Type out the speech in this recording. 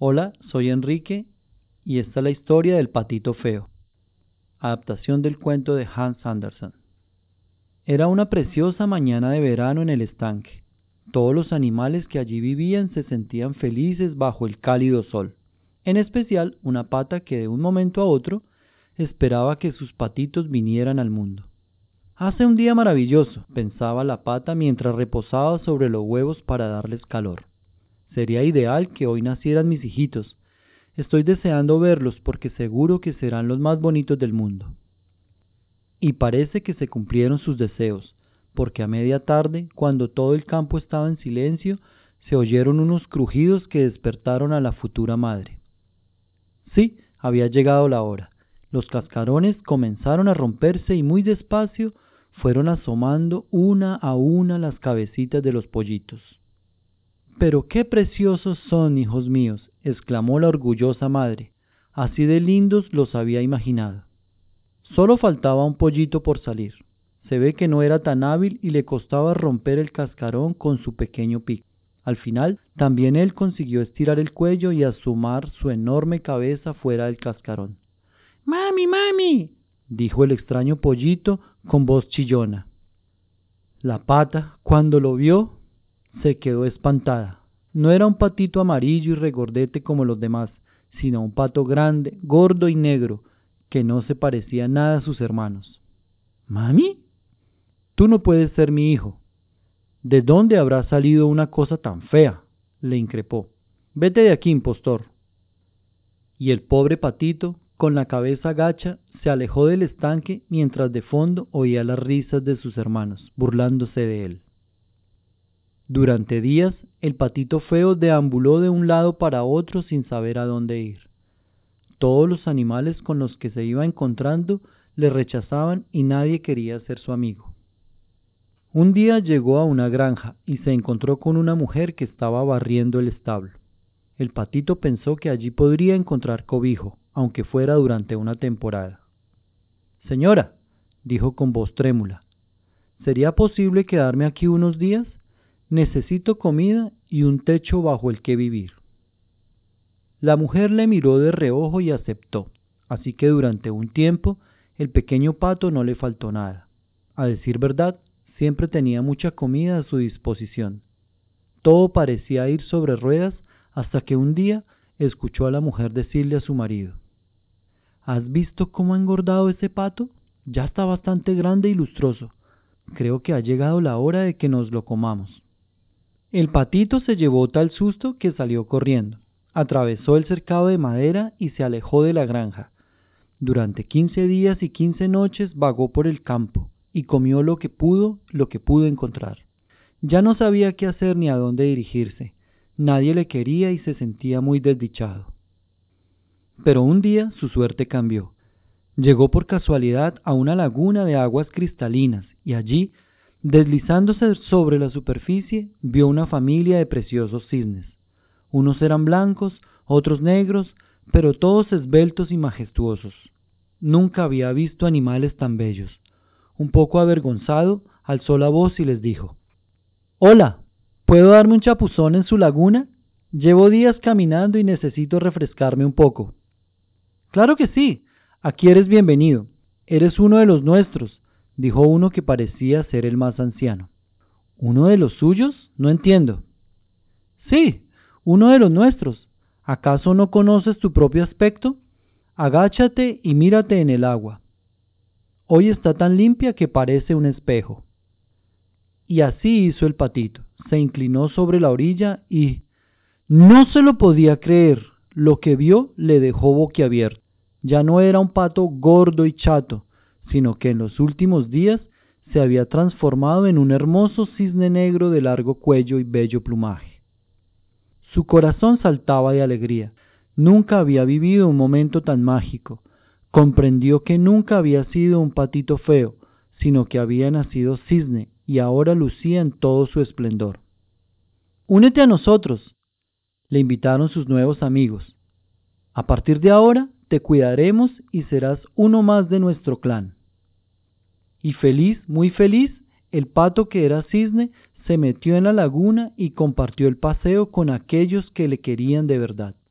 Hola, soy Enrique y esta es la historia del patito feo, adaptación del cuento de Hans Andersen. Era una preciosa mañana de verano en el estanque. Todos los animales que allí vivían se sentían felices bajo el cálido sol, en especial una pata que de un momento a otro esperaba que sus patitos vinieran al mundo. Hace un día maravilloso, pensaba la pata mientras reposaba sobre los huevos para darles calor. Sería ideal que hoy nacieran mis hijitos. Estoy deseando verlos porque seguro que serán los más bonitos del mundo. Y parece que se cumplieron sus deseos, porque a media tarde, cuando todo el campo estaba en silencio, se oyeron unos crujidos que despertaron a la futura madre. Sí, había llegado la hora. Los cascarones comenzaron a romperse y muy despacio fueron asomando una a una las cabecitas de los pollitos. «¡Pero qué preciosos son, hijos míos!», exclamó la orgullosa madre. Así de lindos los había imaginado. Solo faltaba un pollito por salir. Se ve que no era tan hábil y le costaba romper el cascarón con su pequeño pico. Al final, también él consiguió estirar el cuello y asomar su enorme cabeza fuera del cascarón. «¡Mami, mami!», dijo el extraño pollito con voz chillona. La pata, cuando lo vio, se quedó espantada. No era un patito amarillo y regordete como los demás, sino un pato grande, gordo y negro, que no se parecía nada a sus hermanos. «¿Mami? Tú no puedes ser mi hijo. ¿De dónde habrá salido una cosa tan fea?», le increpó. «Vete de aquí, impostor». Y el pobre patito, con la cabeza gacha, se alejó del estanque mientras de fondo oía las risas de sus hermanos, burlándose de él. Durante días, el patito feo deambuló de un lado para otro sin saber a dónde ir. Todos los animales con los que se iba encontrando le rechazaban y nadie quería ser su amigo. Un día llegó a una granja y se encontró con una mujer que estaba barriendo el establo. El patito pensó que allí podría encontrar cobijo, aunque fuera durante una temporada. «Señora», dijo con voz trémula, «¿sería posible quedarme aquí unos días? Necesito comida y un techo bajo el que vivir». La mujer le miró de reojo y aceptó, así que durante un tiempo el pequeño pato no le faltó nada. A decir verdad, siempre tenía mucha comida a su disposición. Todo parecía ir sobre ruedas hasta que un día escuchó a la mujer decirle a su marido: «¿Has visto cómo ha engordado ese pato? Ya está bastante grande y lustroso. Creo que ha llegado la hora de que nos lo comamos». El patito se llevó tal susto que salió corriendo, atravesó el cercado de madera y se alejó de la granja. Durante 15 días y 15 noches vagó por el campo y comió lo que pudo encontrar. Ya no sabía qué hacer ni a dónde dirigirse. Nadie le quería y se sentía muy desdichado. Pero un día su suerte cambió. Llegó por casualidad a una laguna de aguas cristalinas y allí, deslizándose sobre la superficie, vio una familia de preciosos cisnes. Unos eran blancos, otros negros, pero todos esbeltos y majestuosos. Nunca había visto animales tan bellos. Un poco avergonzado, alzó la voz y les dijo: «Hola, ¿puedo darme un chapuzón en su laguna? Llevo días caminando y necesito refrescarme un poco». «Claro que sí, aquí eres bienvenido. Eres uno de los nuestros», dijo uno que parecía ser el más anciano. «¿Uno de los suyos? No entiendo». «Sí, uno de los nuestros. ¿Acaso no conoces tu propio aspecto? Agáchate y mírate en el agua. Hoy está tan limpia que parece un espejo». Y así hizo el patito. Se inclinó sobre la orilla y no se lo podía creer. Lo que vio le dejó boquiabierto. Ya no era un pato gordo y chato, sino que en los últimos días se había transformado en un hermoso cisne negro de largo cuello y bello plumaje. Su corazón saltaba de alegría. Nunca había vivido un momento tan mágico. Comprendió que nunca había sido un patito feo, sino que había nacido cisne y ahora lucía en todo su esplendor. «Únete a nosotros», le invitaron sus nuevos amigos. «A partir de ahora te cuidaremos y serás uno más de nuestro clan». Y feliz, muy feliz, el pato que era cisne se metió en la laguna y compartió el paseo con aquellos que le querían de verdad.